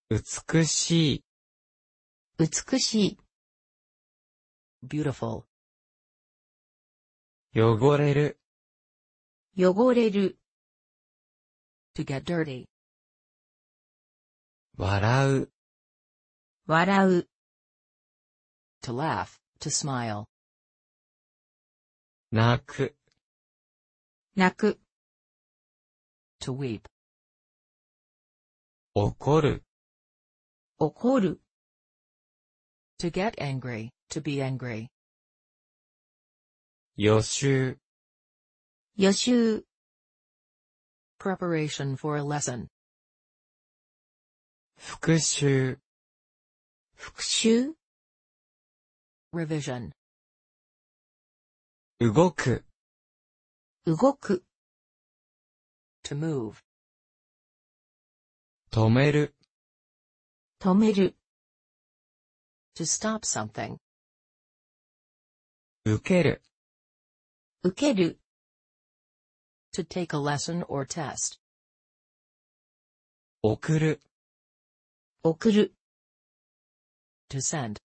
美しい。 美しい。 beautiful, 汚れる。 汚れる。 to get dirty, 笑う。 笑う。 to laugh, to smile, 泣く。 泣く。 to weep, 怒る。 怒る。 to get angry, to be angry, 予習。 予習。 preparation for a lesson, 復習。 復習。 revision, 動く。 動く。 to move, 止める。 止める。 to stop something, 受ける。 受ける。 to take a lesson or test, 送る。 送る。 to send,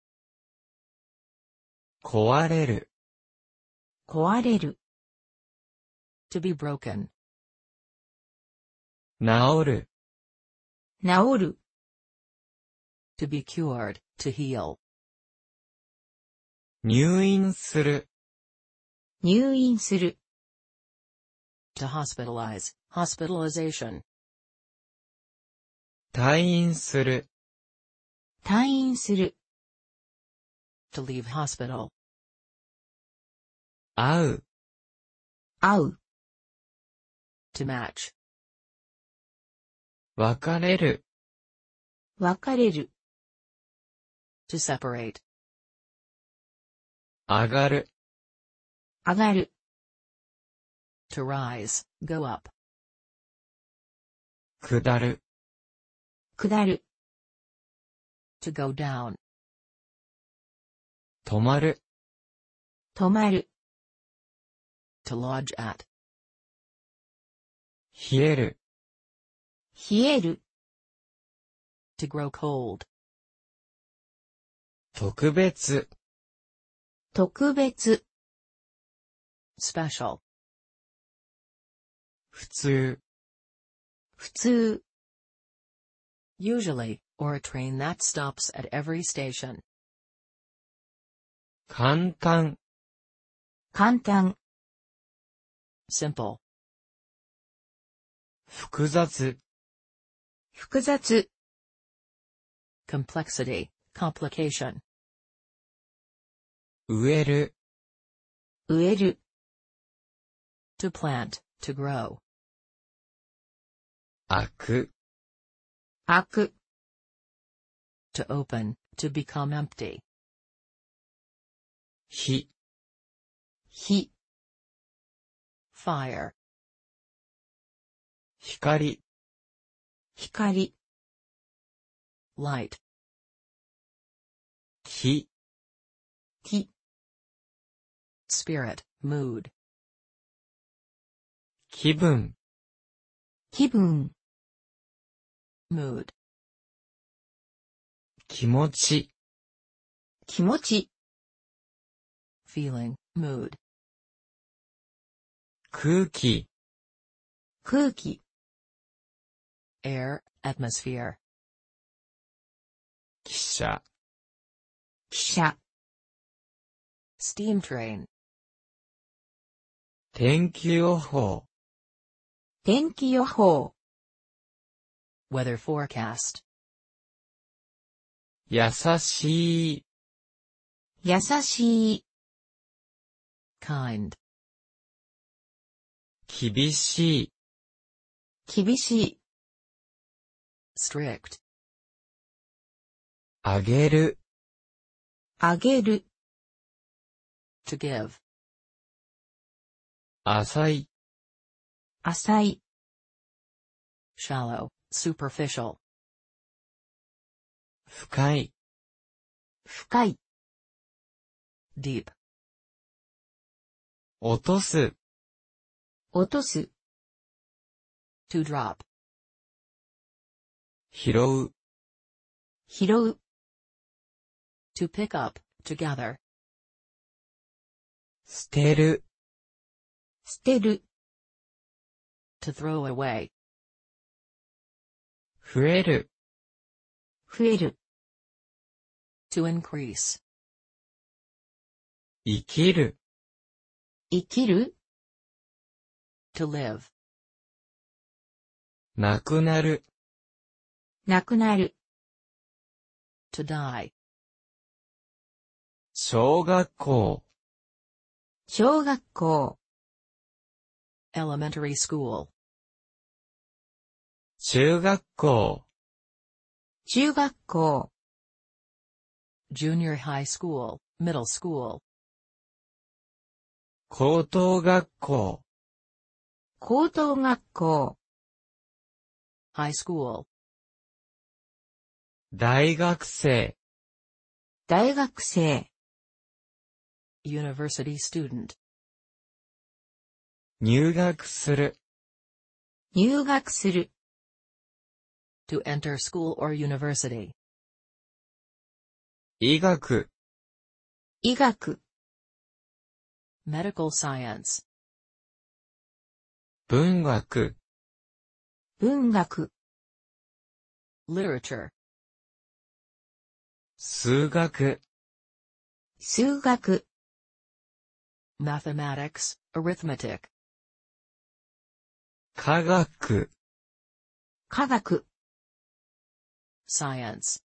壊れる。 壊れる。 to be broken, 治る。 治る。 to be cured, to heal, 入院する。 入院する。 to hospitalize, hospitalization, 退院する。 退院する。 to leave hospital, 会う。 会う。 to match, 別れる。 別れる。 to separate, 上がる。 上がる。 to rise, go up, 下る。 下る。 to go down, 止まる。 止まる。 to lodge at, 冷える。 冷える。 to grow cold, 特別。 特別。 special, 普通。 普通。 usually, or a train that stops at every station, 簡単。 簡単。 simple, 複雑。 複雑。 complexity, complication, 植える。 植える。 to plant, to grow, 開く。 開く。 to open, to become empty, 火。 火。 fire, 光。 光。 light, 火。 気。 spirit, mood, 気分。 気分。 mood, 気持ち。 気持ち。 feeling, mood, 空気。 空気。 air, atmosphere, 汽車。 汽車。 steam train, 天気予報。 天気予報。 weather forecast, 優しい。 優しい。 kind, 厳しい。 厳しい。 strict, あげる。 あげる。 to give, 浅い。 浅い。 shallow, superficial, 深い。 深い。 deep, 落とす。 落とす。 to drop, 拾う。 拾う、 To pick up, to gather. 捨てる、 捨てる、 To throw away. 増える、 増える、 To increase. 生きる、 生きる、 To live. なくなる、 なくなる、 To die. 小学校、 小学校、 Elementary school. 中学校、 中学校、 Junior high school, middle school. 高等学校、 高等学校、 High school. 大学生、 大学生、 University student. 入学する、 入学する、 To enter school or university. 医学、 医学、 Medical science. 文学、 文学、 Literature. 数学、 数学、 Mathematics, arithmetic. 科学、 科学、 Science.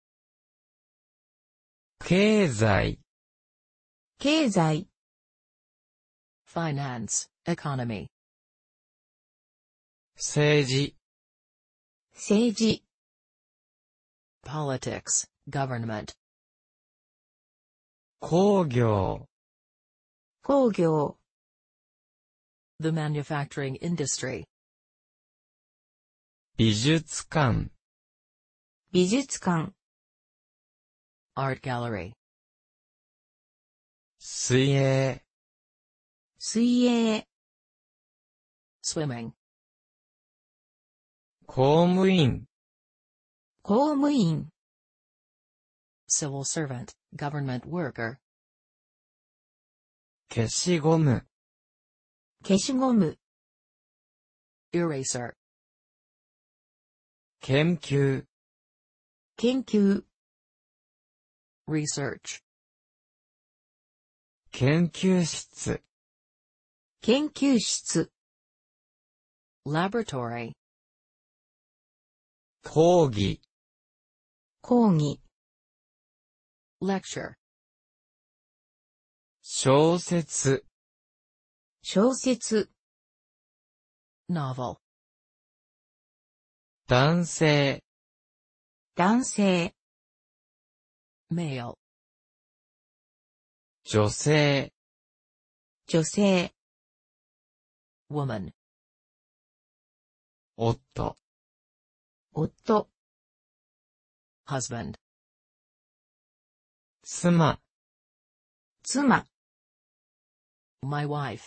経済、 経済、 Finance, economy. 政治、 政治、 Politics, government. 工業、 工業、 The manufacturing industry. 美術館、 美術館、 Art gallery. 水泳、 水泳、 Swimming. 公務員、 公務員、 Civil servant, government worker. 消しゴム、 消しゴム、 Eraser. 研究、 研究、 Research. 研究室、 研究室、 Laboratory. 講義、 講義、 Lecture. 小説、 小説、 Novel. 男性、 男性、 Male. 女性、 女性、 Woman. 夫、 夫、 Husband. 妻、 妻、 My wife.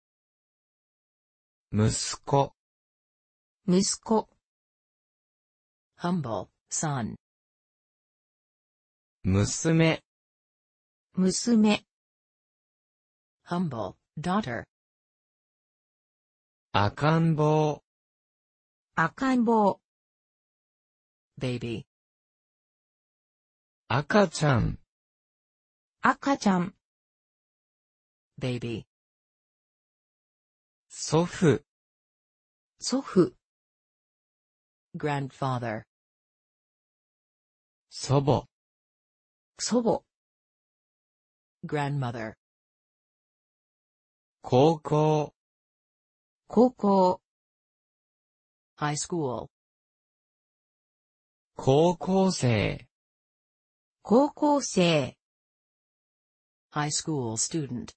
息子、 息子、 Humble, son. 娘、 娘、 Humble, daughter. 赤ん坊、 赤ん坊、 Baby. 赤ちゃん、 赤ちゃん、 Baby. 祖父、 祖父、 Grandfather. 祖母、 祖母、 Grandmother. 高校、 高校、 High school. 高校生、 高校生、 High school student.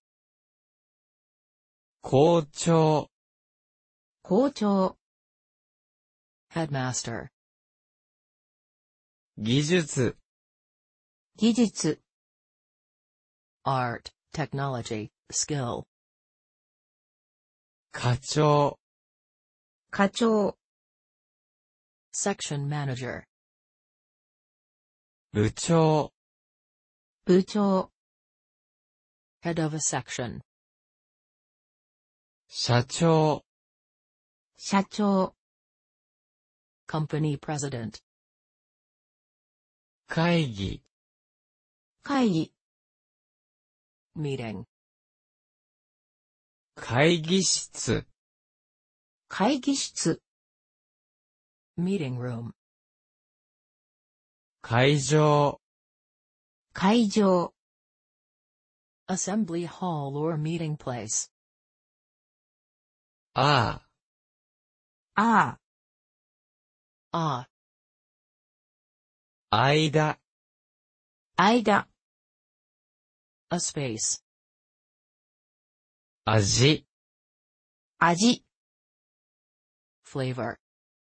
校長、 校長、 Headmaster. 技術、 技術、 Art, technology, skill. 課長、 課長、 Section manager. 部長、 部長、 Head of a section. 社長、 社長、 Company president. 会議、 会議、 Meeting. 会議室、 会議室、 Meeting room. 会場、 会場、 Assembly hall or meeting place. あああ、 Ah. 間、 間、 A space. 味、 味、 Flavor.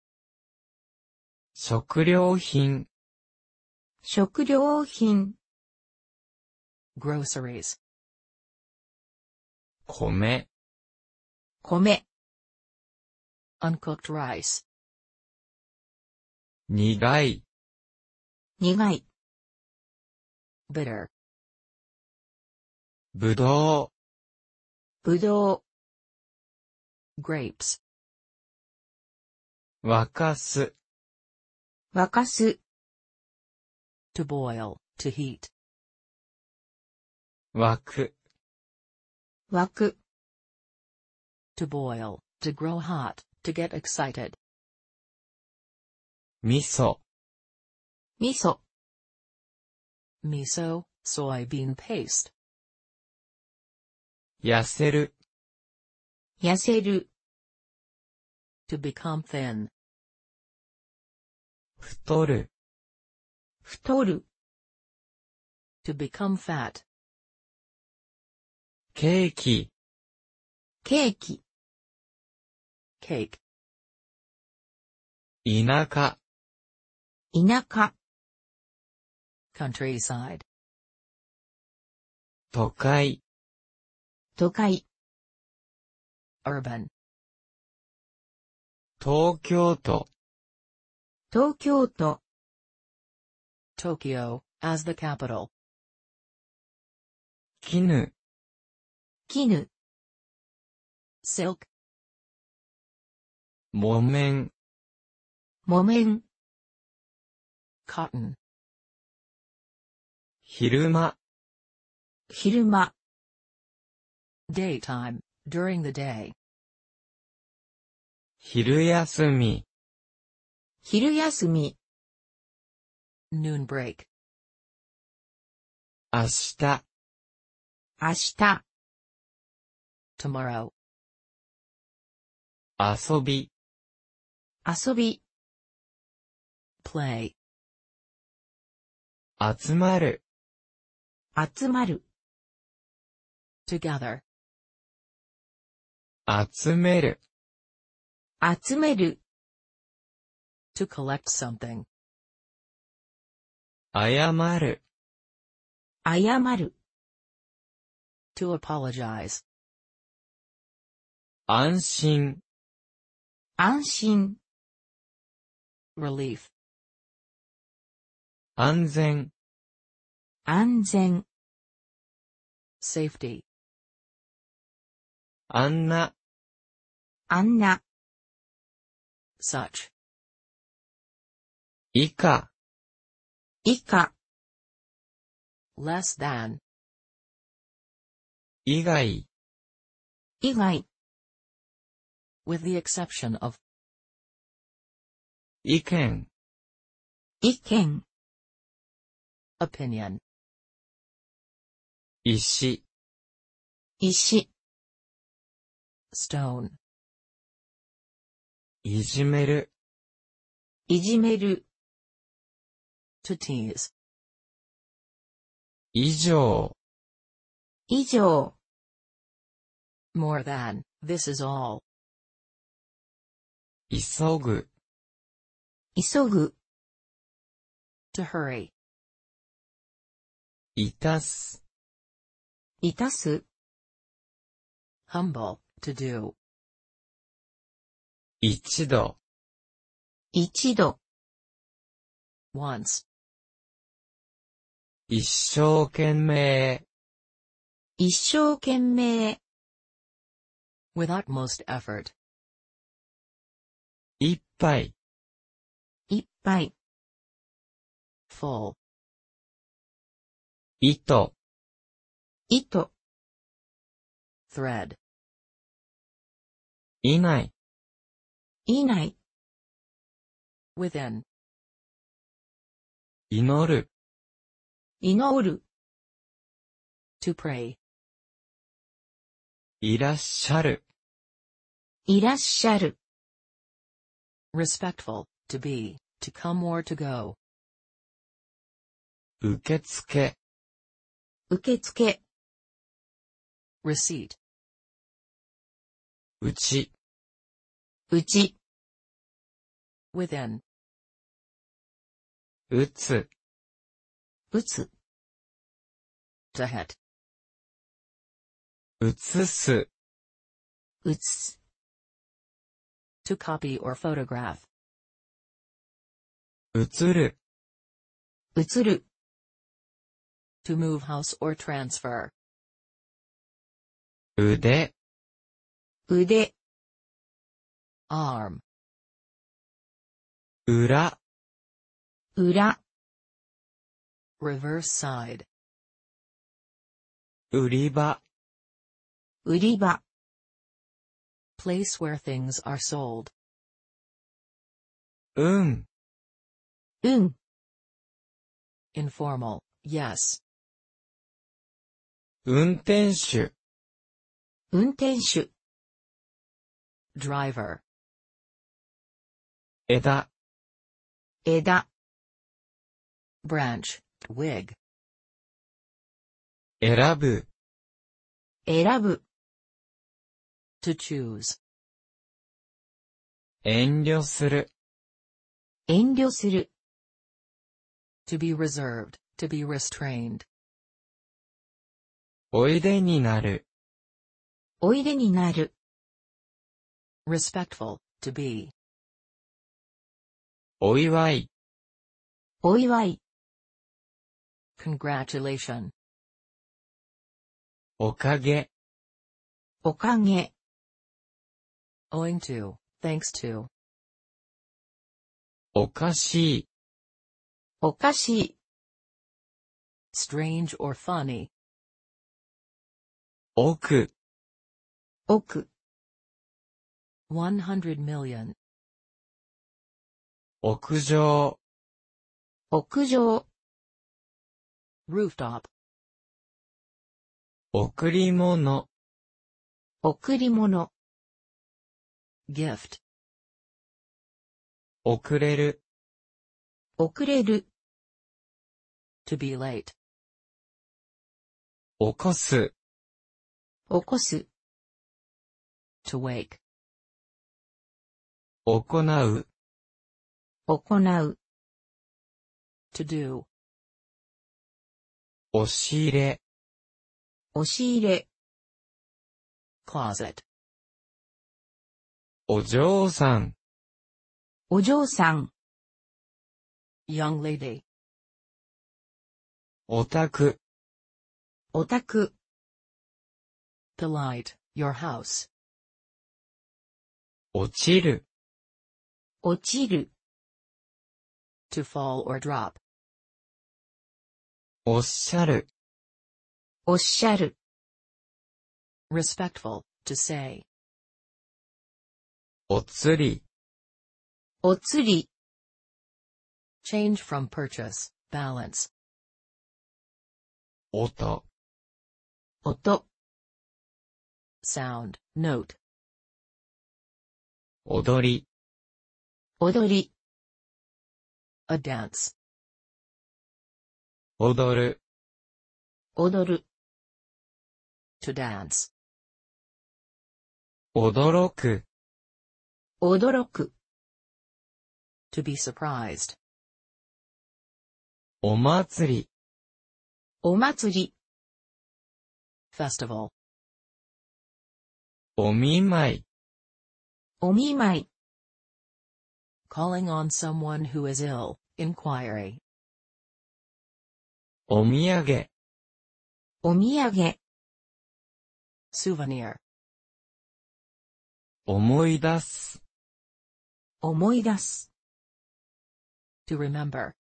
食料品、 食料品、 Groceries. 米、 米、 Uncooked rice. 苦い、 苦い、 Bitter. ぶどぶどう、 Grapes. 沸かす、 沸かす、 To boil. To heat. 沸く、 沸く、 To boil. To grow hot. To get excited. 味噌、 味噌、 Miso. Soybean paste. 痩せる、 痩せる、 To become thin. 太る、 太る、 To become fat. ケーキ、 ケーキ、 Cake. 田舎、 田舎、 Countryside. 都会、 都会、 Urban. 東京都、 東京都、 Tokyo. As the capital. 絹、 絹、 Silk. 木綿、 木綿、 Cotton. 昼間、 昼間、 Daytime. During the day. 昼休み、 昼休み、 Noon break. 明日、 明日、 Tomorrow. 遊び、 遊び、 Play. 集まる、 集まる、 Together. 集める、 集める、 To collect something. 謝る、 謝る、 To apologize. 安心、 安心、 Relief. 安全、 安全、 Safety. あんな、 あんな、 Such. 以下、 以下、 Less than. 以外、 以外、 With the exception of. 意見、 意見、 Opinion. 石、 石、 Stone. いじめる、 いじめる、 To tease. 以上、 以上、 More than. This is all. 急ぐ、 急ぐ、 To hurry. いたす、 いたす、 Humble. To do. 一度、 一度、 Once. 一生懸命、 一生懸命、 with utmost effort, 一杯、 いっぱい、 full, 糸、 糸、 thread, いない、 いない、 within, 祈る、 祈る、 to pray, いらっしゃる、 いらっしゃる、 respectful, to be, to come or to go, 受付、 受付、 receipt, うち、 うち、 within, 打つ、 打つ、 to hit, 写す、 打つ、 to copy or photograph, 映る、 映る、 to move house or transfer, 腕、 腕、 arm, 裏、 裏、 reverse side, 売り場、 売り場、 place where things are sold, うん、 うん、 informal, yes, 運転手、 運転手、 driver, 枝、 枝、 branch, wig, 選ぶ、 選ぶ、 to choose, 遠慮する、 遠慮する、 to be reserved, to be restrained, おいでになる、 おいでになる、 respectful, to be, お祝い、 お祝い、 congratulation, おかげ、 おかげ、 owing to, thanks to, おかしい、 おかしい、 strange or funny, 奥、 奥、 100 million, 屋上、 屋上、 rooftop, 贈り物、 贈り物、 gift, 遅れる、 遅れる、 to be late, 起こす、 起こす、 to wake, 行う、 行う、 to do, 押し入れ、 押し入れ、 closet, お嬢さん、 お嬢さん、 young lady, お宅、 お宅、 polite, your house, 落ちる、 落ちる、 to fall or drop, おっしゃる、 おっしゃる、 respectful, to say, おつり、 おつり、 change from purchase, balance, 音、 音、 sound, note, 踊り、 踊り、 a dance, 踊る、 踊る、 to dance, 驚く、 驚く、 to be surprised, お祭り、 お祭り、 festival, お見舞い、 お見舞い、 calling on someone who is ill, inquiry, お土産、 お土産、 souvenir, 思い出す、 思い出す、 to remember,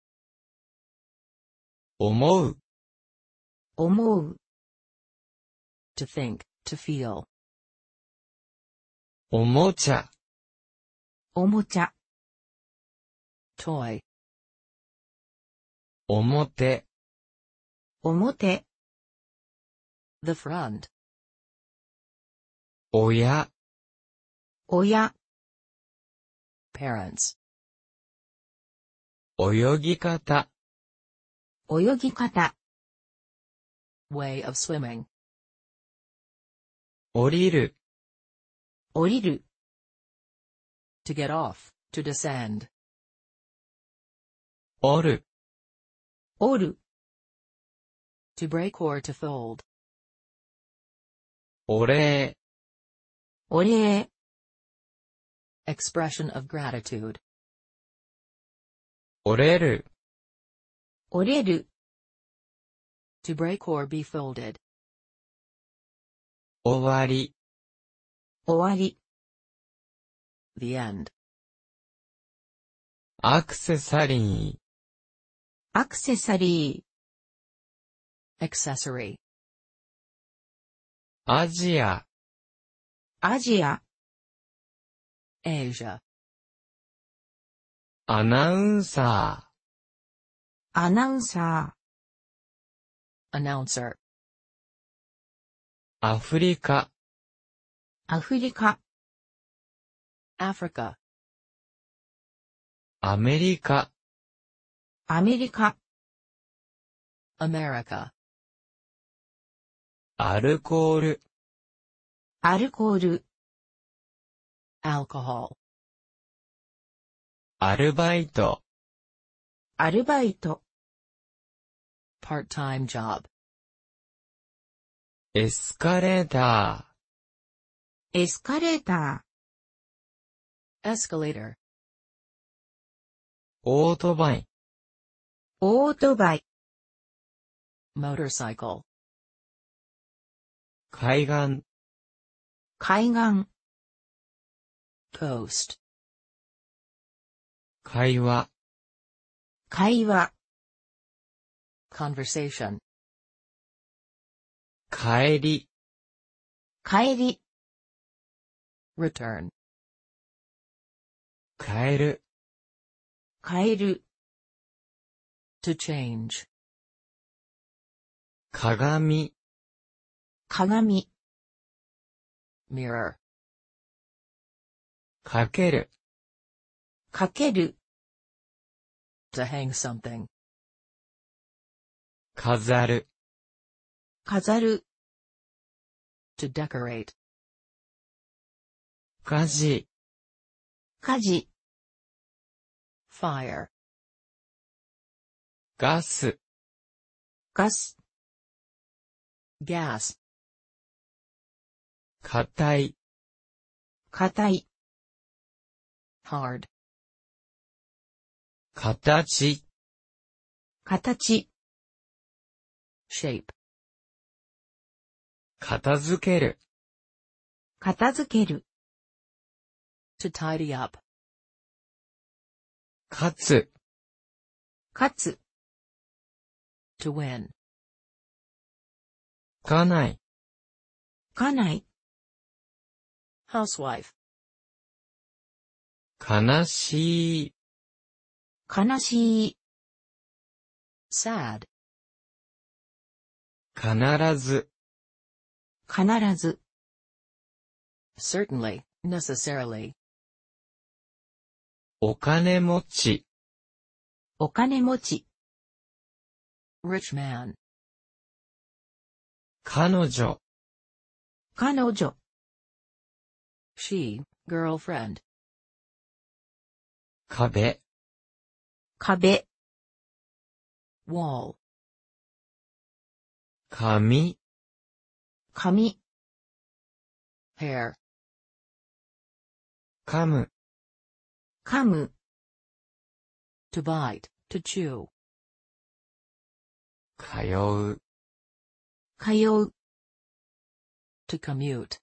思う、 思う、 to think, to feel, おもちゃ、 おもちゃ、 toy, 表、 表、 the front, 親、 親、 parents, 泳ぎ方、 泳ぎ方、 way of swimming, 降りる、 降りる、 to get off, to descend, 折る、 折る、 to break or to fold, お礼、 お礼、 expression of gratitude, 折れる、 折れる、 to break or be folded, 終わり、 終わり、 the end, アクセサリー、 アクセサリ accessory, アジア、 ー、アジア、 Asia, アナウンサアナウンサ announcer, ー、アフリカ、 ー、アフリカ、 Africa, アメリカ、 アメリカ、 America, アルコール、 アルコール、 alcohol, アルバイト、 アルバイト、 part-time job, エスカレータエスカレータ escalator, ー、オートバイ、 ー、オートバイ、 motorcycle, 海岸、 海岸、 coast, 会話、 会話、 conversation, 帰り、 帰り、 return, 帰る、 帰る、 to change, 鏡、 鏡、 mirror, かける、 かける、 to hang something, 飾る、 飾る、 to decorate, 火事、 火事、 fire, ガス、 ガス、 gas, 硬い、 硬い、 hard, 形、 形、 shape, 片付ける、 片付ける、 to tidy up, 勝つ、 勝つ、 to win, 家内、 家内、 housewife, 悲しい、 悲しい、 sad, 必ず、 必ず、 certainly, necessarily, お金持ち、 お金持ち、 rich man, 彼女、 彼女、 she, girlfriend, 壁、 壁、 wall, 髪、 髪、 hair, 噛む、 噛む、 to bite, to chew, 通う、 通う、 To commute.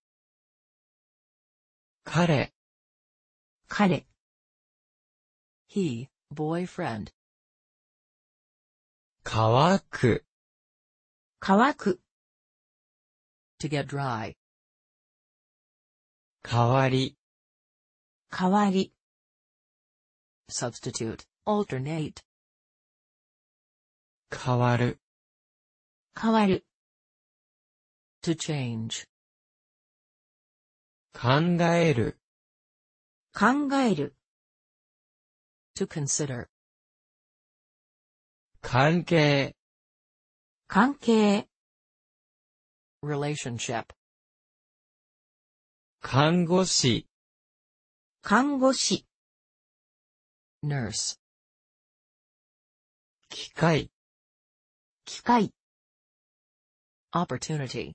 彼、 彼、 He, boyfriend. 乾く、 乾く、 To get dry. 代わり、 代わり、 Substitute. Alternate. 変わる、 変わる、 To change. 考える、 考える、 To consider. 関係、 関係、 Relationship. 看護師、 看護師、 Nurse. 機械、 機械、 Opportunity.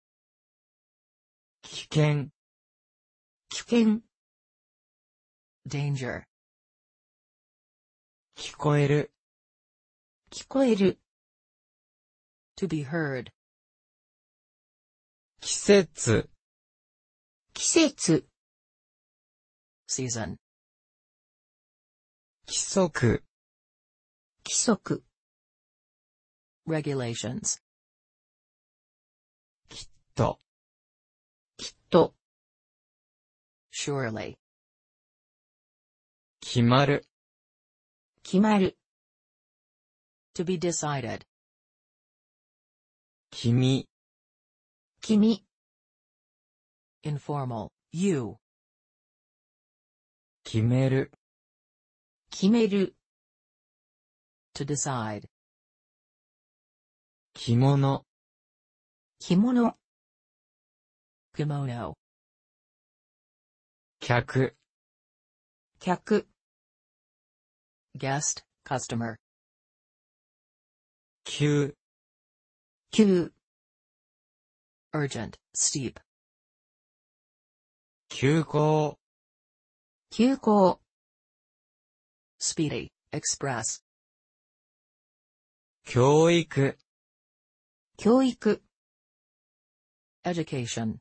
危険、 危険、 Danger. 聞こえる、 聞こえる、 To be heard. 季節、 季節、 Season. 規則、 規則、 Regulations. と、 きっと、 Surely. 決まる、 決まる、 To be decided. 君、 君、 Informal. You. 決める、 決める、 To decide. 着物、 着物、 Kimono. 客、 客、 Guest. Customer. 急、 急、 Urgent. Steep. 急行、 急行、 Speedy. Express. 教育、 教育、 Education.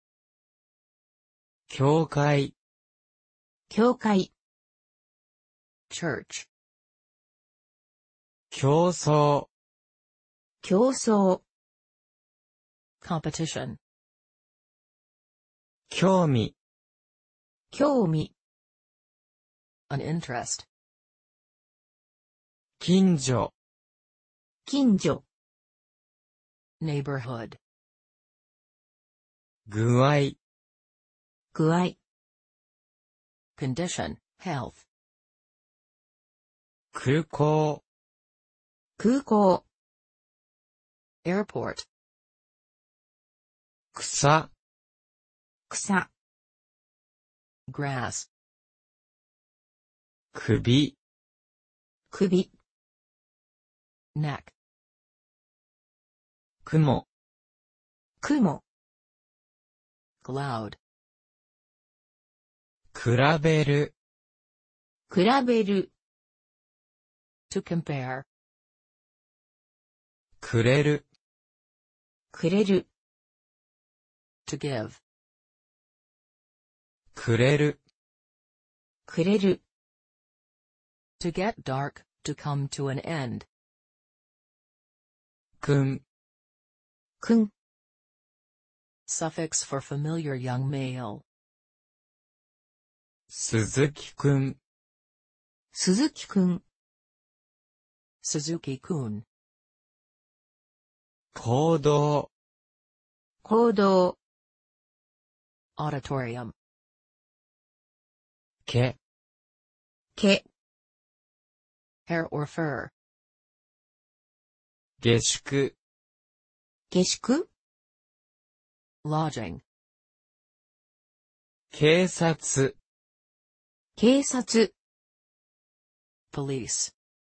教会、 教会、 Church. 競争、 競争、 Competition. 興味、 興味、 An interest. 近所、 近所、 Neighborhood. 具合、 具合、 Condition. Health. 空港、 空港、 Airport. 草、 草、 Grass. 首、 首、 Neck. 雲、 雲、 Cloud. 比べる、 比べる、 To compare. くれる、 くれる、 To give. くれる、 くれる、 To get dark. To come to an end. くん、 くん、 Suffix for familiar young male. 鈴木くん、 鈴木くん、 Suzuki-kun. 行動、 行動、 Auditorium. 毛、 毛、 Hair or fur. 下宿、 下宿、 Lodging. 警察、 警察、 Police.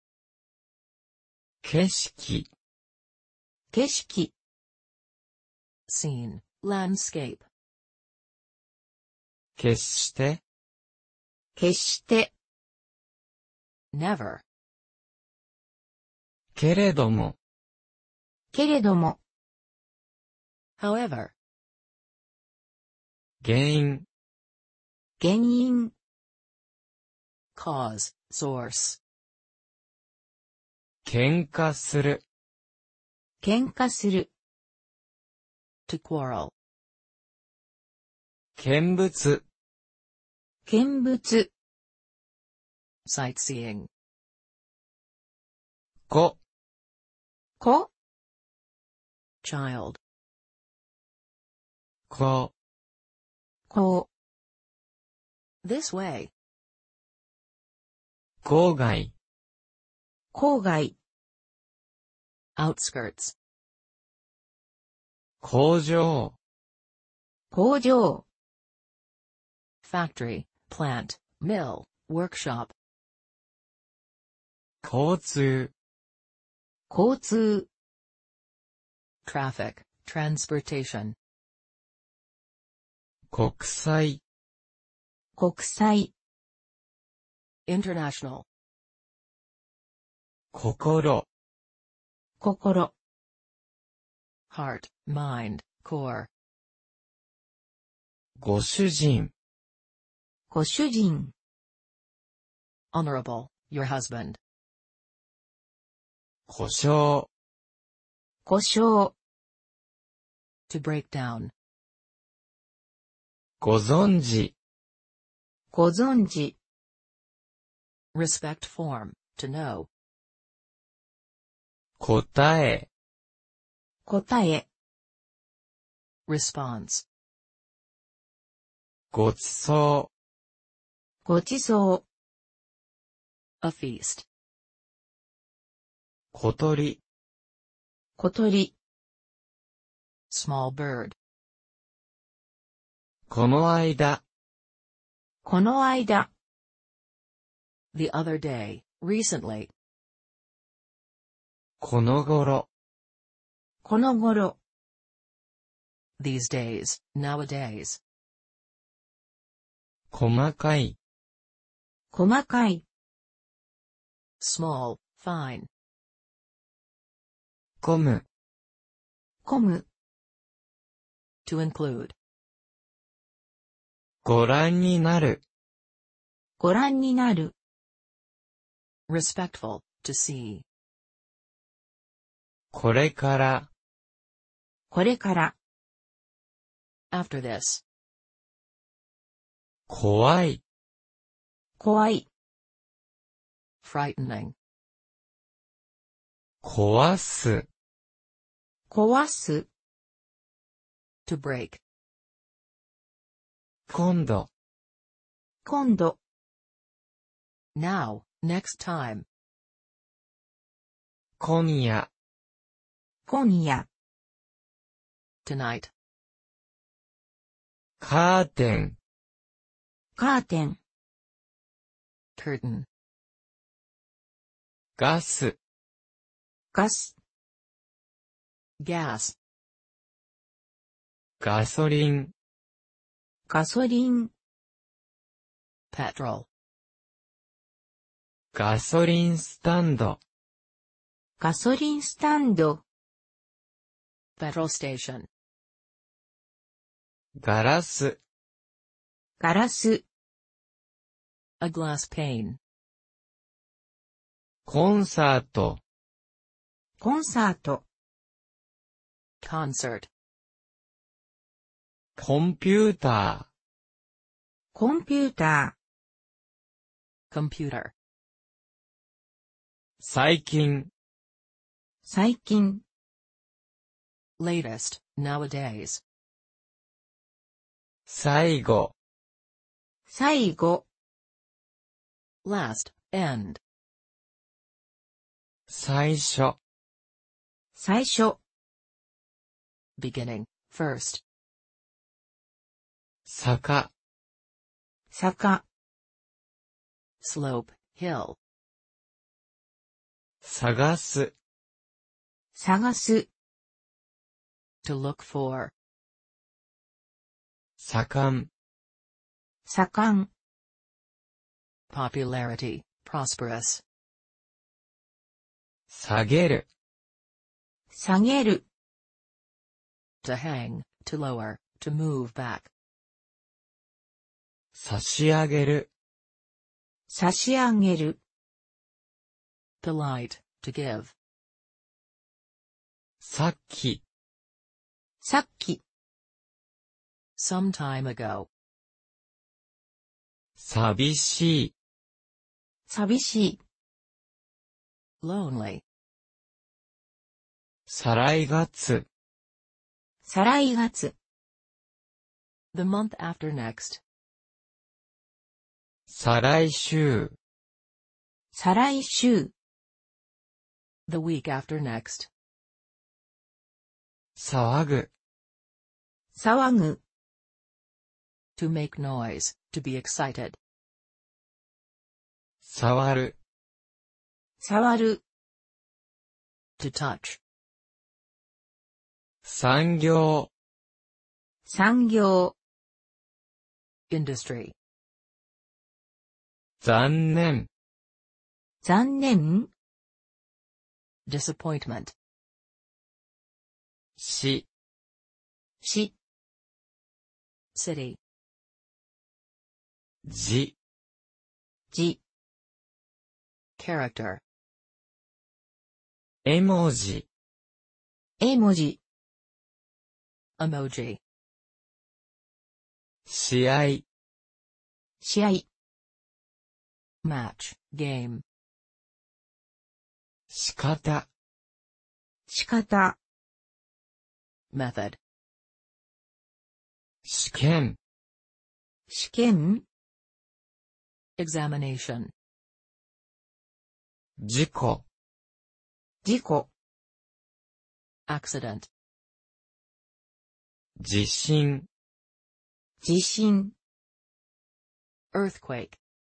景色、 景色、 Scene. Landscape. 決して、 決して、 Never. けれども、 けれども、 However. 原因、 原因、 Cause, source. 喧嘩する、 喧嘩する、 To quarrel. 見物、 見物、 Sightseeing. 子、 子、 Child. 子、 子、 This way. 郊外、 郊外、 Outskirts. 工場、 工場、 Factory, plant, mill, workshop. 交通、 交通、 Traffic, transportation. 国際、 国際、 International. 心、 心、 Heart, mind, core. ご主人、 ご主人、 Honorable, your husband. 故障、 故障、 To break down. ご存知、 ご存知、 Respect form, to know. 答え、 答え、 Response. ごちそごちそう、 A feast. う、小鳥、 小鳥、 Small bird. この間、 この間、 The other day, recently. この頃、 この頃、 These days, nowadays. 細かい、 細かい、 Small, fine. 込む、 込む、 To include. ご覧になる、 ご覧になる、 Respectful, to see. これから、 これから、 After this. 怖い、 怖い、 Frightening. 壊す、 壊す、 To break. 今度、 今度、 Now, next time. 今夜、 今夜、 Tonight. カーテン、 カーテン、 Curtain. ガス、 ガス、 Gas. ガソリン、 ガソリン、 Petrol. ガソリンスタンド、 ガソリンスタンド、 Petrol station. ガラス、 ガラス、 A glass pane. コンサート、 コンサート、 Concert. コンピュータコンピュータ Computer. ー、最近、 ー、最近、 Latest, nowadays. 最後、 最後、 Last, end. 最初、 最初、 Beginning, first. 坂、 坂、 Slope, hill. 探す、 探す、 To look for. 盛ん、 盛ん、 Popularity, prosperous. 下げる、 下げる。 To hang, to lower, to move back. 差し上げる。 差し上げる。 Polite, to give. さっき。 さっき。 Some time ago. 寂しい。 寂しい。 Lonely. 再来月。 再来月。 The month after next. 再来週。 再来週。 The week after next. 騒ぐ。 騒ぐ。 To make noise, to be excited. 触る。 触る。 To touch. 産業。 産業。 Industry. 残念。 残念。 Disappointment. し。 し。 City. じ。 じ。 Character. 絵文字。 絵文字。 Emoji. 試合。 試合。 Match, game. 仕方。 仕方。 Method. 試験。 試験。 Examination. 事故。 事故。 Accident. 地震。 地震。 Earthquake.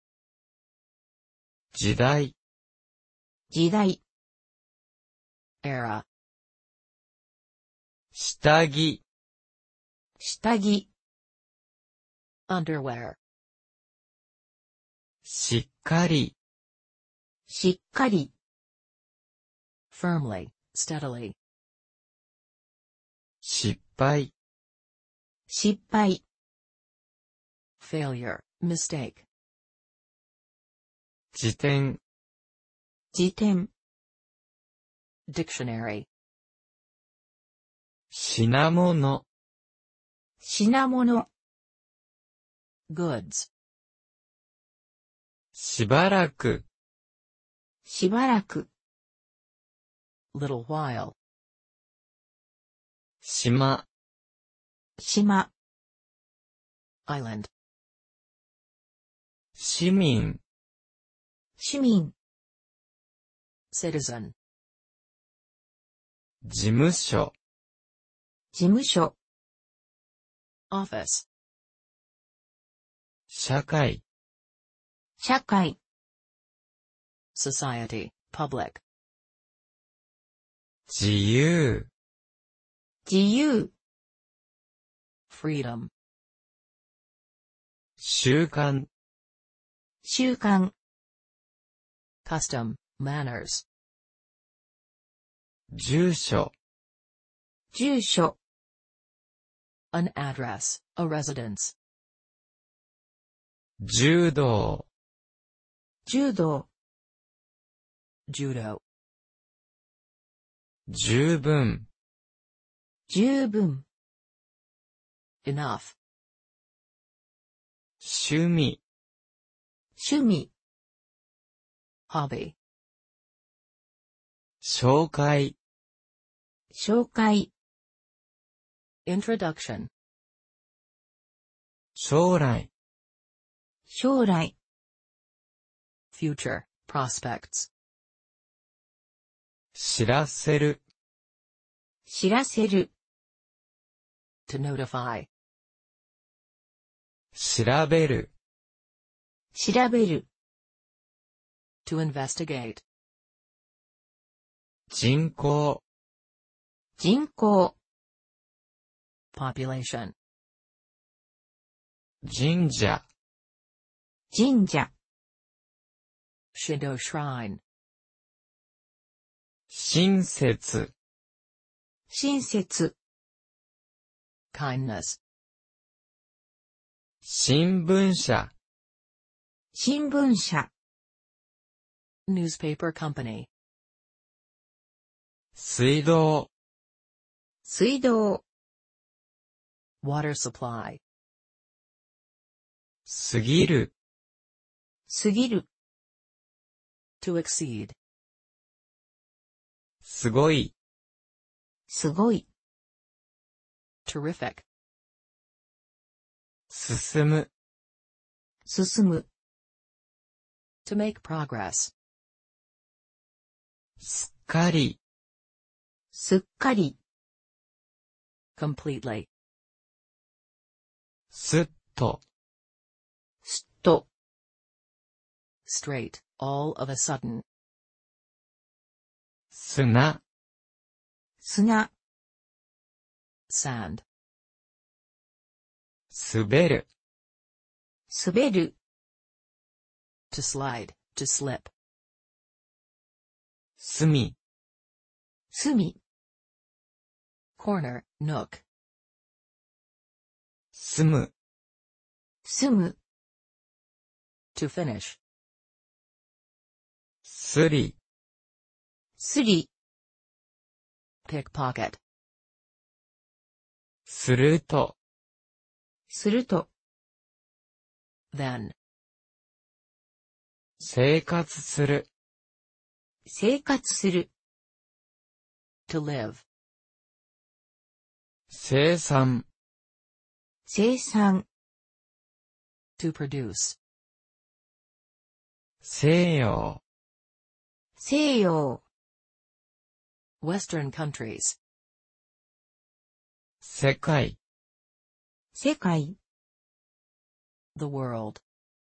時代。 時代。 Era. 下着。 下着。 Underwear. しっかり。 しっかり。 Firmly, steadily. 失敗。 失敗。 Failure, mistake. 辞典。 辞典。 Dictionary. 品物。 品物。 Goods. しばらく。 しばらく。 Little while. 島。 島。 Island. 市民。 市民。 Citizen. 事務所。 事務所。 Office. 社会。 社会。 Society, public. 自由。 自由。 Freedom. 習慣。 習慣。 Custom, manners. 住所。 住所。 An address, a residence. 柔道。 柔道。 Judo. 十分。 十分。 Enough. 趣味。 趣味。 Hobby. 紹介。 紹介。 Introduction. 将来。 将来。 Future, prospects. 知らせる。 知らせる。 To notify. 調べる。 調べる。 To investigate. 人口。 人口。 Population. 神社。 神社。 Shinto shrine. 親切。 親切、 kindness, 新聞社、 新聞社、 newspaper company, 水道、 水道、 water supply, 過ぎる、 過ぎる、 to exceed, すごい、 すごい、 terrific, 進む、 進む、 to make progress, すっかり、 すっかり、 completely, すっと、 すっと、 straight, all of a sudden, 砂、 砂、 sand, 滑る、 滑る、 to slide, to slip, 隅、 隅、 corner, nook, 住む、 住む、 to finish, すり、 すり、 pickpocket, すると、 すると、 then, 生活する、 生活する、 to live, 生産、 生産、 to produce, 西洋、 西洋、 Western countries, 世界、 世界、 the world,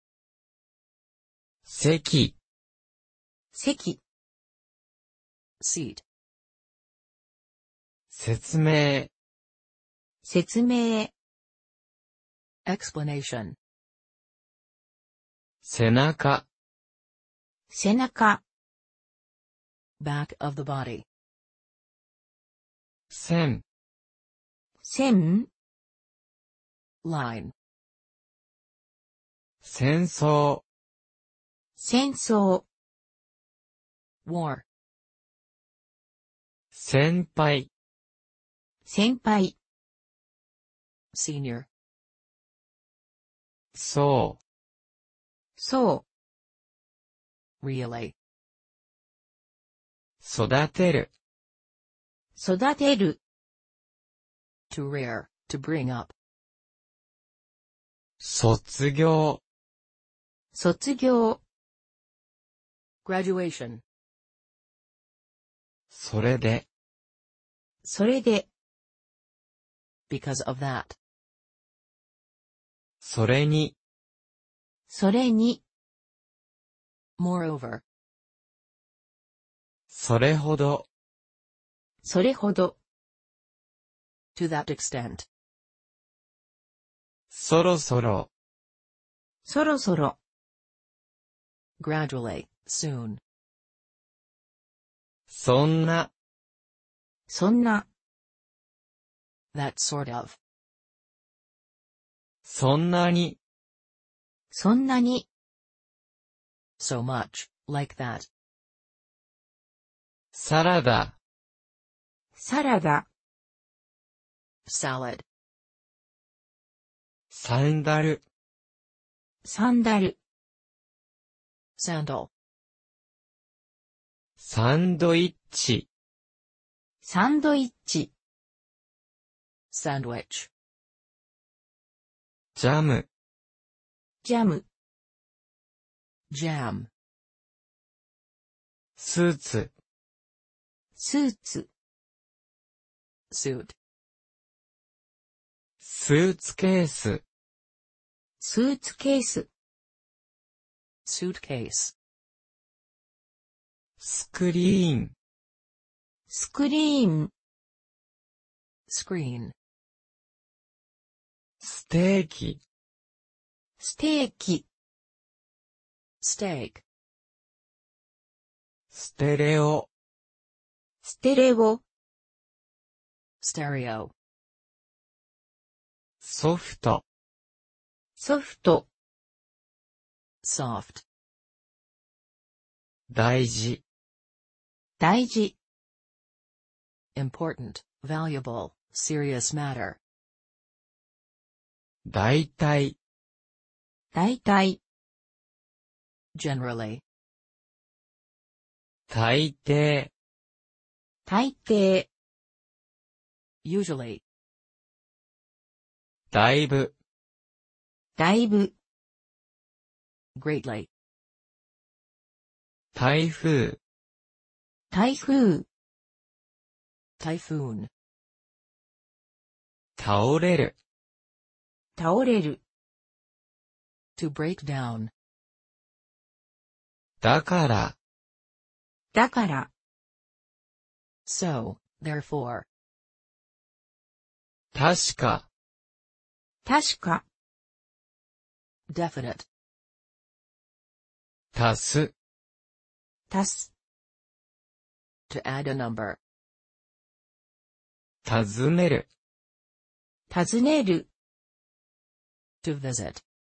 席、 席、 seat, 説明、 説明、 explanation, 背中、 背中、 back of the body, 線、 線、 line, 戦争、 戦争、 war, 先輩、 先輩、 senior, そそ really, う、育てる、 う、育てる、 to rear, to bring up, 卒業、 卒業、 graduation, それで、 それで、 because of that, それに、 それに、 moreover, それほど、 それほど、 to that extent, そろそろ、 そろそろ、 gradually, soon, そんな、 そんな、 that sort of, そんなに、 そんなに、 so much, like that, サラダ、 サラダ、 salad, サンダル、 サンダル、 sandal, サンドイッチ、 サンドイッチ、 sandwich, ジャム、 ジャム、 jam, スーツ、 スーツ、 suit, スーツケース、 スーツケース、 suitcase, スクリーン、 スクリーン、 screen, ステーキ、 ステーキ、 steak, ステレオ、 ステレオ、 stereo, ソフト、 ソフト、 soft, 大事、 大事、 important, valuable, serious matter, 大体、 大体、 generally, 大抵、 大抵、 usually, だいぶ、 だいぶ、 greatly, 台風、 台風、 typhoon, 倒れる、 倒れる、 to break down, だから、 だから、 so, therefore, 確か、 確か、 definite, 足す、 足す、 to add a number, 尋ねる、 尋ねる、 to visit,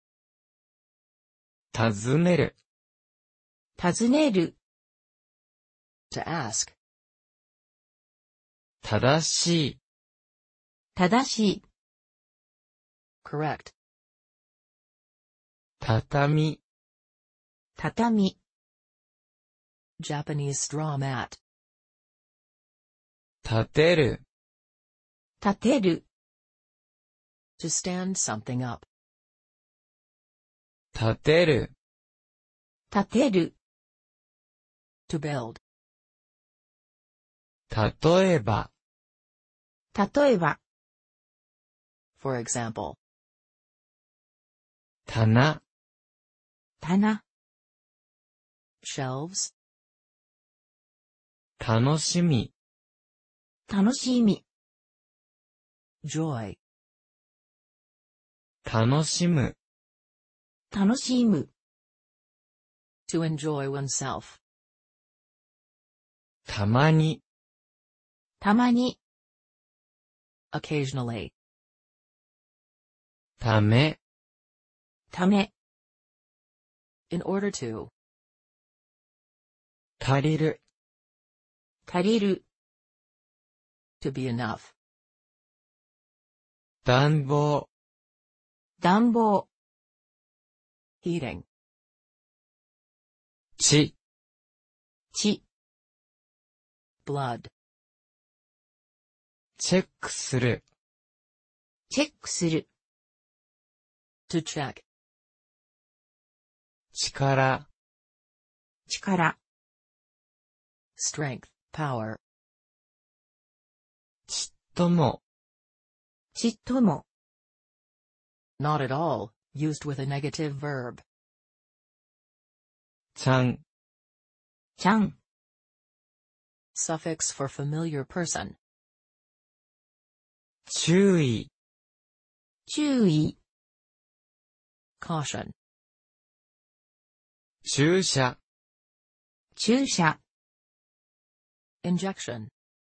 尋ねる、 尋ねる、 to ask, 正しい、 正しい、 correct, 畳、 畳、 Japanese straw mat, 立てる、 立てる、 to stand something up, 立てる、 立てる、 to build, 例えば、 例えば、 for example, 棚、 棚、 shelves, 楽しみ、 楽しみ、 joy, 楽しむ、 楽しむ、 to enjoy oneself, たまに、 たまに、 occasionally, ため、 ため、 in order to, 足りる、 足りる、 to be enough, 暖房、 暖房、 heating, 血、 血、 blood, チェックする、 チェックする、 to check, 力、 力、 strength, power, ちっとも、 ちっとも、 not at all, used with a negative verb, ちゃん、 ちゃん、 suffix for familiar person, 注意、 注意、 caution, 注射、 注射、 injection,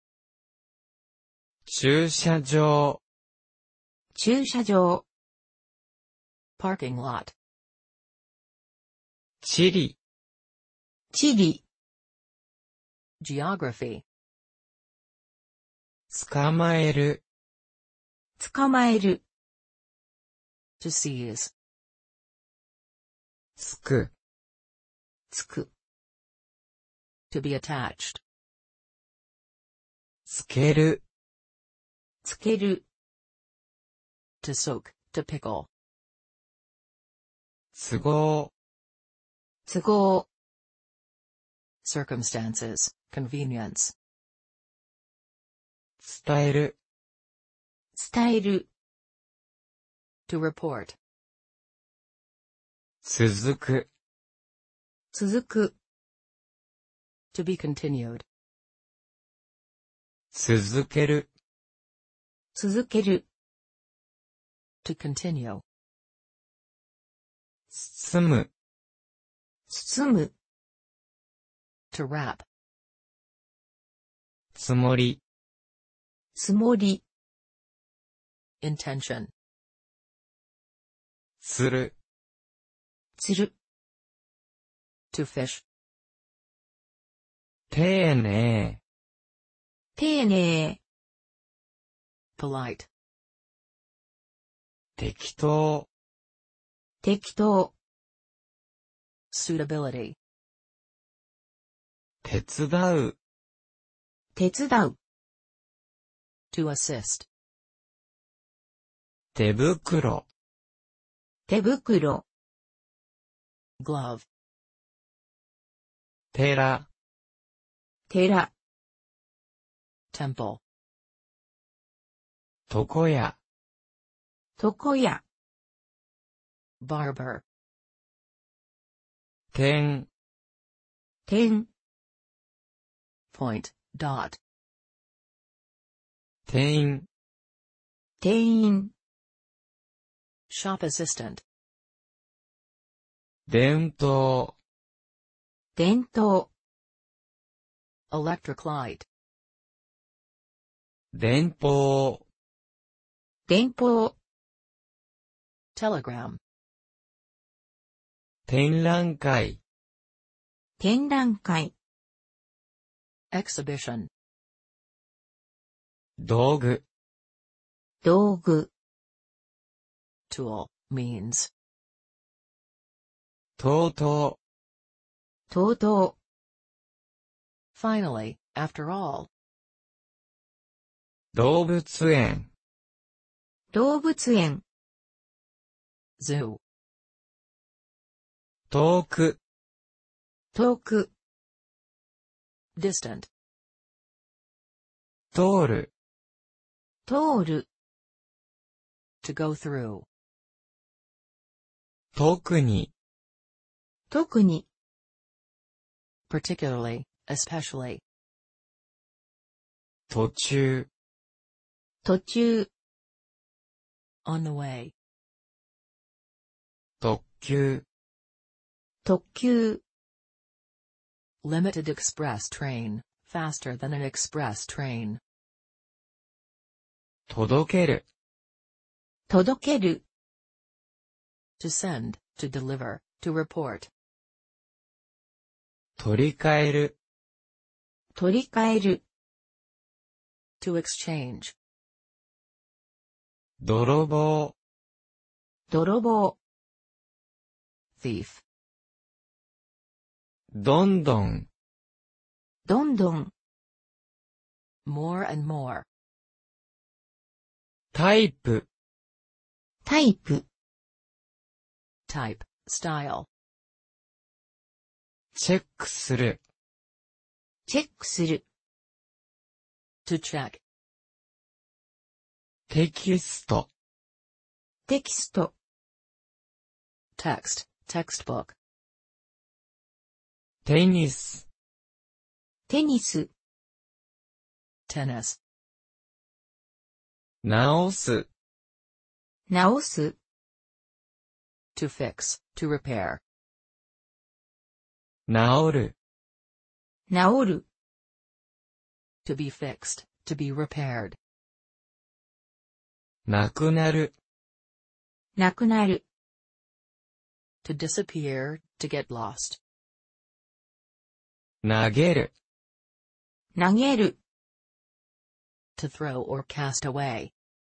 駐車場、 駐車場、 parking lot, 地理、 地理、 geography, 捕まえる、 捕まえる、 to seize, つく、 つく、 to be attached, つける、 つける、 to soak, to pickle, 都合、 都合、 circumstances, convenience, 伝える、 伝える、 to report, 続く、 続く、 to be continued, 続ける、 続ける、 to continue, 包む、 包む、 to wrap, つもり、 つもり、 intention, する、 つる、 to fish, 丁寧、 丁寧、 polite, 適当、 適当、 suitability, 手伝う、 手伝う、 to assist, 手袋、 手袋、 glove, 寺、 寺、 temple, 床屋、 床屋、 barber, 点、 点、 point, dot, 店員、 店員、 shop assistant, 伝統、 伝統、 electric light, 電報、 電報、 telegram, 展覧会、 展覧会、 exhibition, 道具、 道具、 tool, means, とうととうと finally, after all, う、動物園、 う、動物園、 zoo, 遠く、 遠く、 distant, 通る、 通る、 to go through, 特に、 特に、 particularly, especially, 途中、 途中、 on the way, 特急、 特急、 limited express train, faster than an express train, 届ける、 届ける、 to send, to deliver, to report, 取り替える、 取り替える、 to exchange, 泥棒、 泥棒、 thief, どんどん、 どんどん、 more and more, タイプ、 タイプ、 type, style, チェックする、 チェックする、 to check, テキスト、 テキスト、 text, textbook, テニス、 テニス、 tennis, 直す、 直す、 to fix, to repair, 治る、 直る、 to be fixed, to be repaired, なくなる、 なくなる、 to disappear, to get lost, 投げる、 投げる、 to throw or cast away,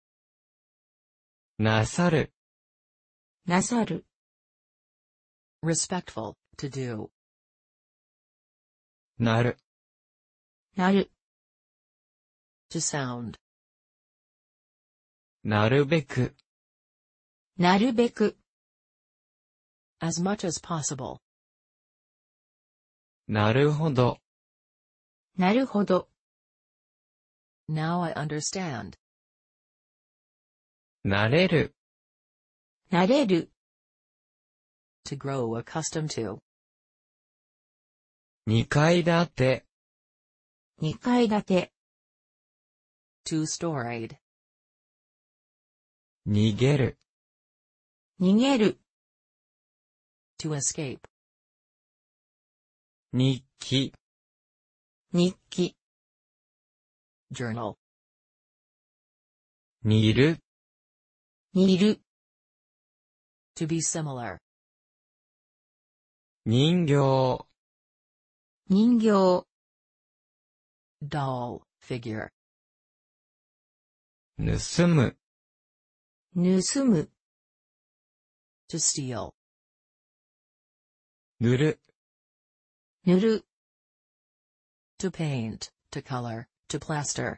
なさる、 なさる、 respectful, to do, なる、 なる、 to sound, なるべく、 なるべく、 as much as possible, なるほど、 なるほど、 now I understand, なれる、 なれる、 to grow accustomed to, 2階建て、 2階建て、 two-storied, 逃げる、 逃げる、 to escape, 日記、 日記、 journal, 煮る、 煮る、 To be similar. 人形、 人形、 Doll, figure. 盗む、 盗む、 To steal. 塗る、 塗る、 To paint, to color, to plaster.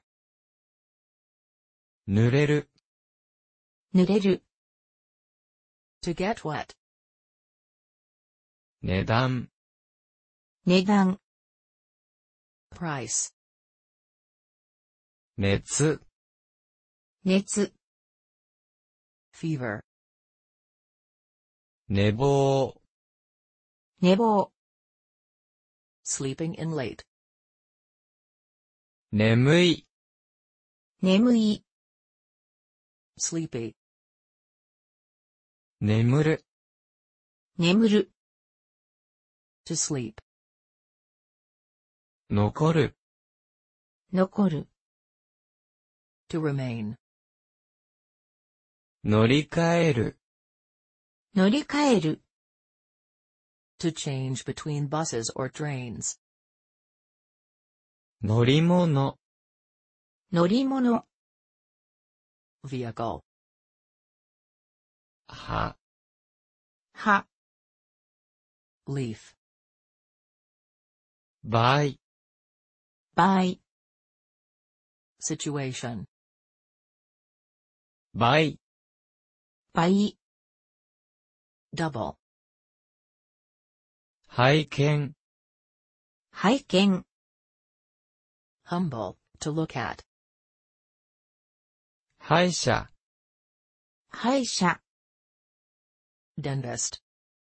濡れる、 濡れる、 To get wet. 値段、 値段、 Price. 熱、 熱、 Fever. 寝坊、 寝坊、 Sleeping in late. 眠い、 眠い、 Sleepy. 眠る、 眠る、 To sleep. 残る、 残る、 To remain. 乗り換える、 乗り換える、 To change between buses or trains. 乗り物、 乗り物、 Vehicle. 葉、 葉、 Leaf. 倍、 倍、 Situation. 倍、 倍、 Double. 拝見、 拝見、 Humble, to look at. 歯医者、 歯医者、 Dentist.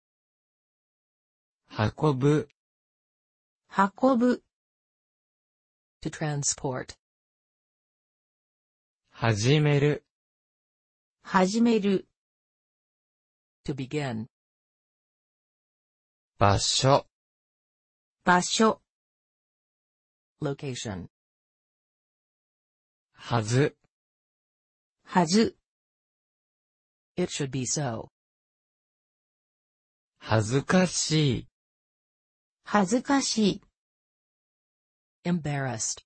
運ぶ、 運ぶ、 To transport. 始める、 始める、 To begin. 場所、 場所、 Location. はず、 はず、 It should be so. 恥ずかしい、 恥ずかしい、 Embarrassed.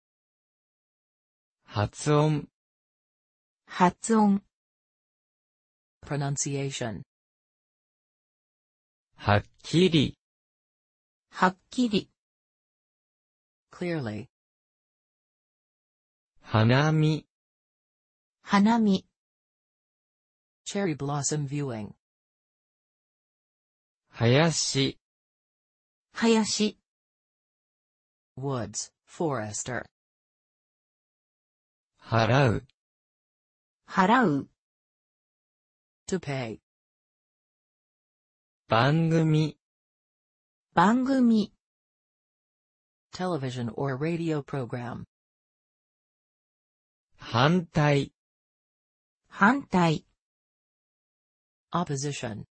発音、 発音、 Pronunciation. はっきり、 はっきり、 Clearly. 花見、 花見、 Cherry blossom viewing. 林、 林、 Woods, forester. 払う、 払う、 To pay. 番組、 番組、 Television or radio program. 反対、 反対、 Opposition.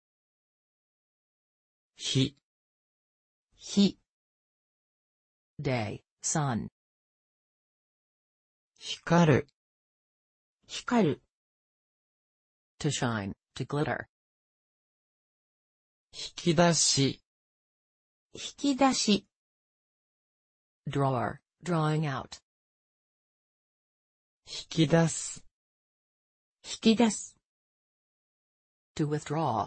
日、 日、 Day, sun. 光る、 光る、 To shine, to glitter. 引き出し、 引き出し、 Drawer, drawing out. 引き出す、 引き出す、 To withdraw.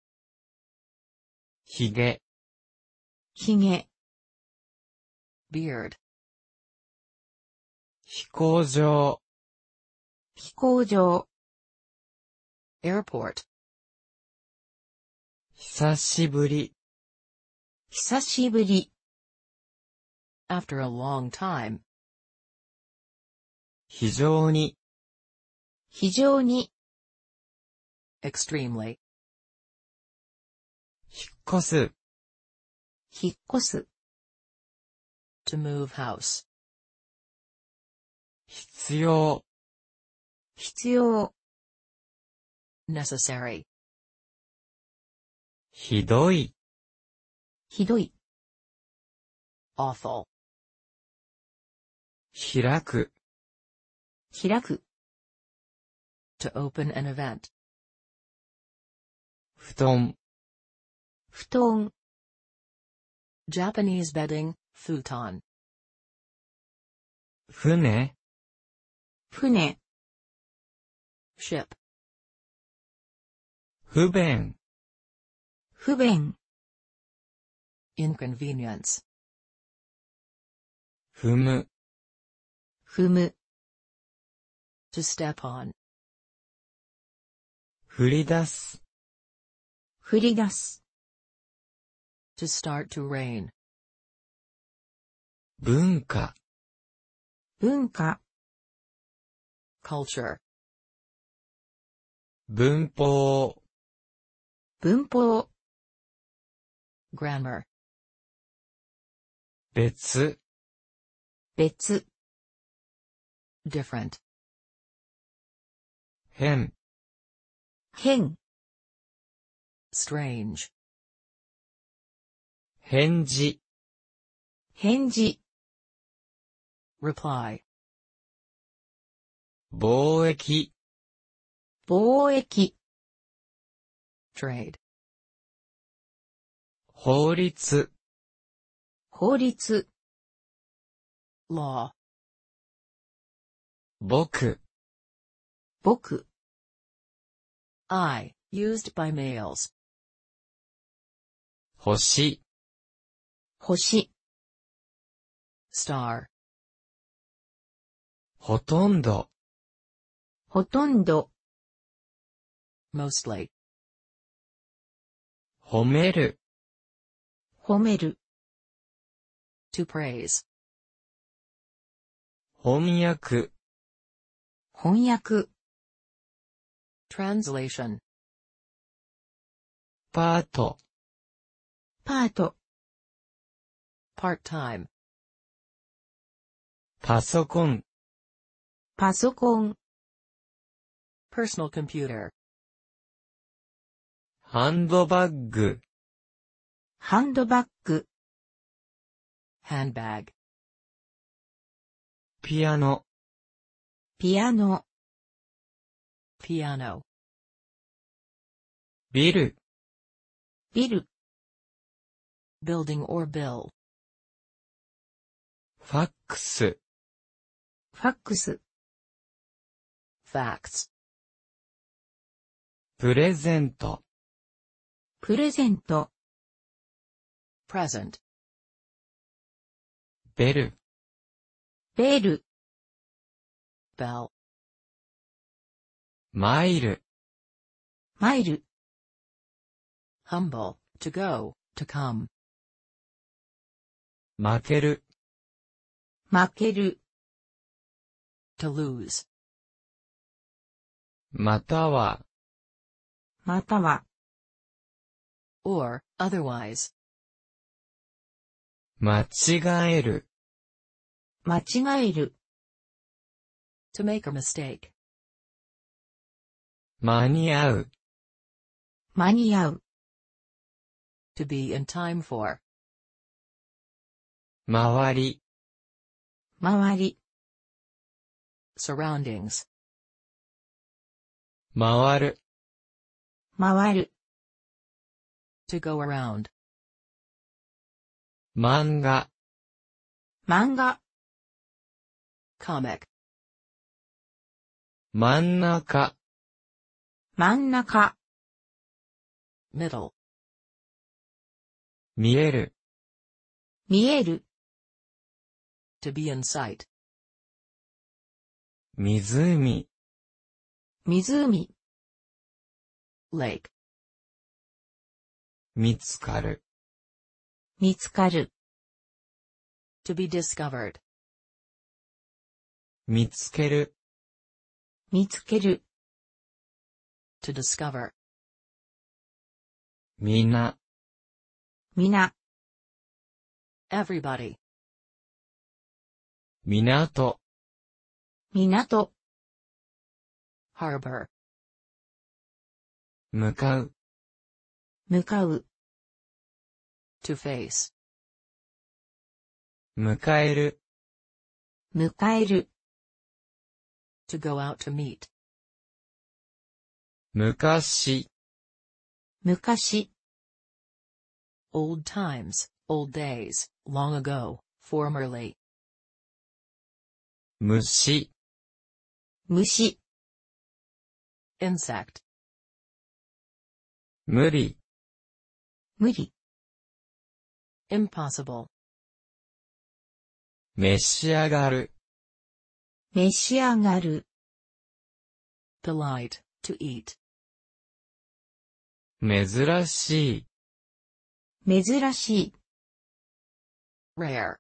ひげ、 ひげ、 Beard. 飛行場、 飛行場、 Airport. 久しぶり、 久しぶり、 After a long time. 非常に、 非常に、 Extremely. 引っ越す、 引っ越す、 To move house. 必要、 必要、 Necessary. ひどい、 ひどい、 Awful. 開く、 開く、 To open an event. 布団、 布団、 Japanese bedding, futon. 船、 船、 Ship. 不便、 不便、 Inconvenience. 踏む、 踏む、 To step on. 振り出す、 振り出す、 To start to rain. 文化、 文化、 Culture. 文法、 文法、 Grammar. 別、 別、 Different. 変、 変、 Strange. 返事、 返事、 Reply. 貿易、 貿易、 Trade. 法律、 法律、 Law. 僕、 僕、 I. Used by males. 星、 星、 Star. ほとんど、 ほとんど、 Mostly. 褒める、 褒める、 To praise. 翻訳、 翻訳、 Translation. パート、 パート、 Part-time. パソコン、 パソコン、 Personal computer. ハンドバッグ、 ハンドバッグ、 Handbag. ピアノ、 ピアノ、 Piano. ビル、 ビル、 Building or bill. ファックス、 ファックス、 Facts. プレゼント、 プレゼント、 Present. ベル、 ベル、 Bell. マイル、 マイル、 Humble. To go. To come. 負ける、 負ける、 To lose. または、 または、 Or, otherwise. 間違える、 間違える、 To make a mistake. 間に合う、 間に合う、 To be in time for. 周り、 周り、 Surroundings. 回る、 回る、 To go around. 漫画、 漫画、 Comic. 真ん中、 真ん中、 Middle. 見える、 見える、 To be in sight. 湖、 湖、 Lake. 見つかる、 見つかる、 To be discovered. 見つける、 見つける、 To discover. みな、 みな、 Everybody. 港、 港、 Harbor. 向かう、 向かう、 To face. 迎える、 迎える、 To go out to meet. 昔、 昔、 Old times, old days, long ago, formerly. 虫、 虫、 Insect. 無理、 無理、 Impossible. 召し上がる、 召し上がる、 Polite, to eat. 珍しい、 珍しい、 Rare.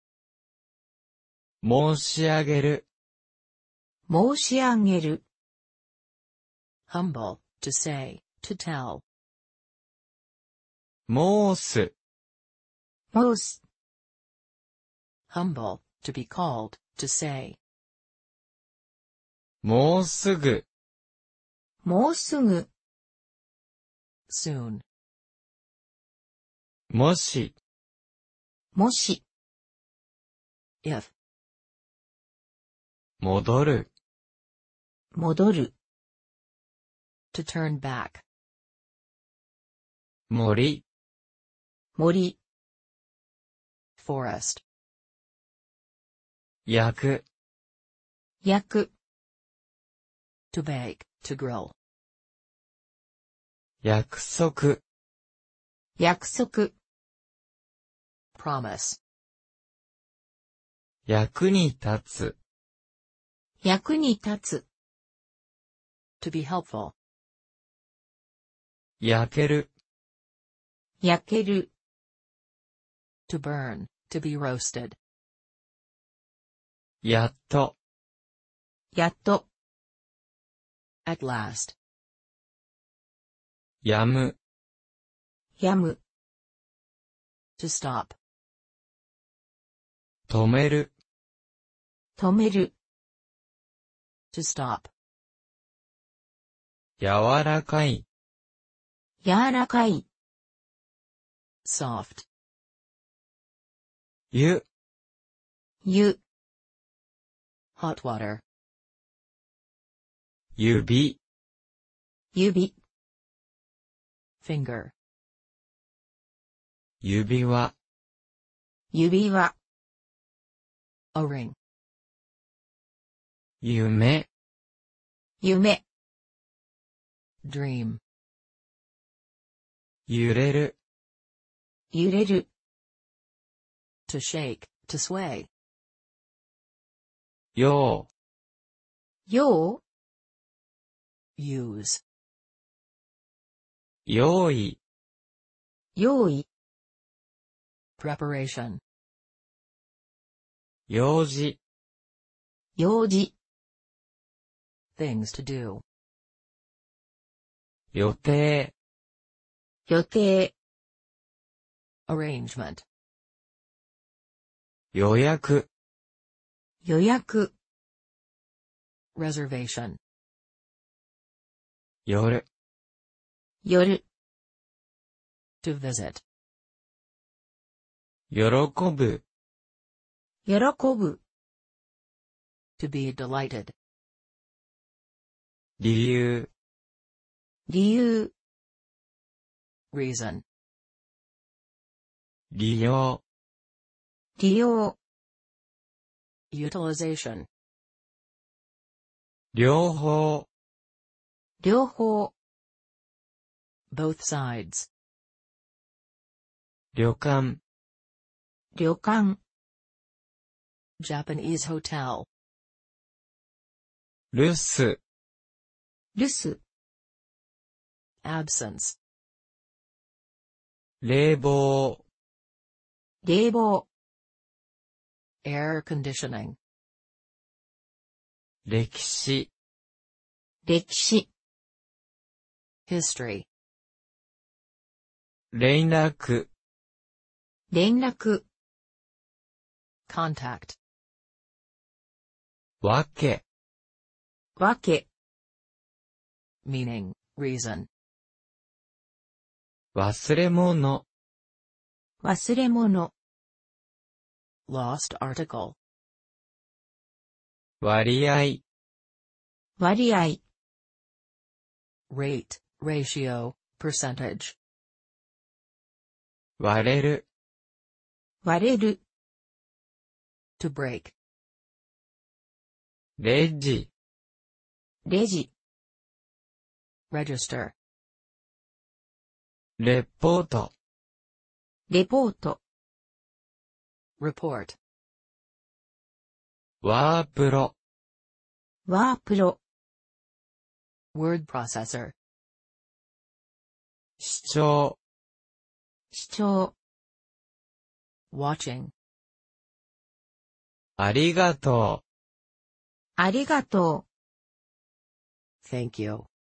申し上げる、 申し上げる、 Humble, to say, to tell. 申す、 申す、 Humble, to be called, to say. もうすぐ、 もうすぐ、 Soon. もし、 もし、 If. 戻る、 戻る、 To turn back. 森、 森、 Forest. 焼く、 焼く、 To bake, to grill. 約束、 約束、 Promise. 役に立つ、 役に立つ、 To be helpful. 焼ける、 焼ける、 To burn, to be roasted. やっと、 やっと、 At last. やむ、 やむ、 To stop. 止める、 止める、 To stop. 柔らかい、 柔らかい、 Soft. 湯、 湯、 Hot water. 指、 指、 Finger. 指輪、 指輪、 A ring. 夢、 夢、 Dream. 揺れる、 揺れる、 To shake, to sway. よよう、 Use. う、用意、 用意、 Preparation. 用事、 用事、 Things to do. 予定、 予定、 Arrangement. 予約、 予約、 Reservation. 夜、 夜、 To visit. 喜ぶ、 喜ぶ、 To be delighted. 理由、 理由、 Reason. 利用、 利用、 Utilization. 両方、 両方、 Both sides. 旅館、 旅館、 Japanese hotel. 留守、 留守、 Absence. 冷房、 冷房、 Air conditioning. 歴史、 歴史、 History. 連絡、 連絡、 Contact. わけ、 わけ、 Meaning, reason. 忘れ物、 忘れ物、 Lost article. 割合、 割合、 rate, ratio, percentage. 割れる、 割れる、 To break. レジ、 レジ、 Register. レポート、 レポート、 Report. ワープロ、 ワープロ、 Word processor. 視聴、 視聴、 Watching. ありがとう。 ありがとう。 Thank you.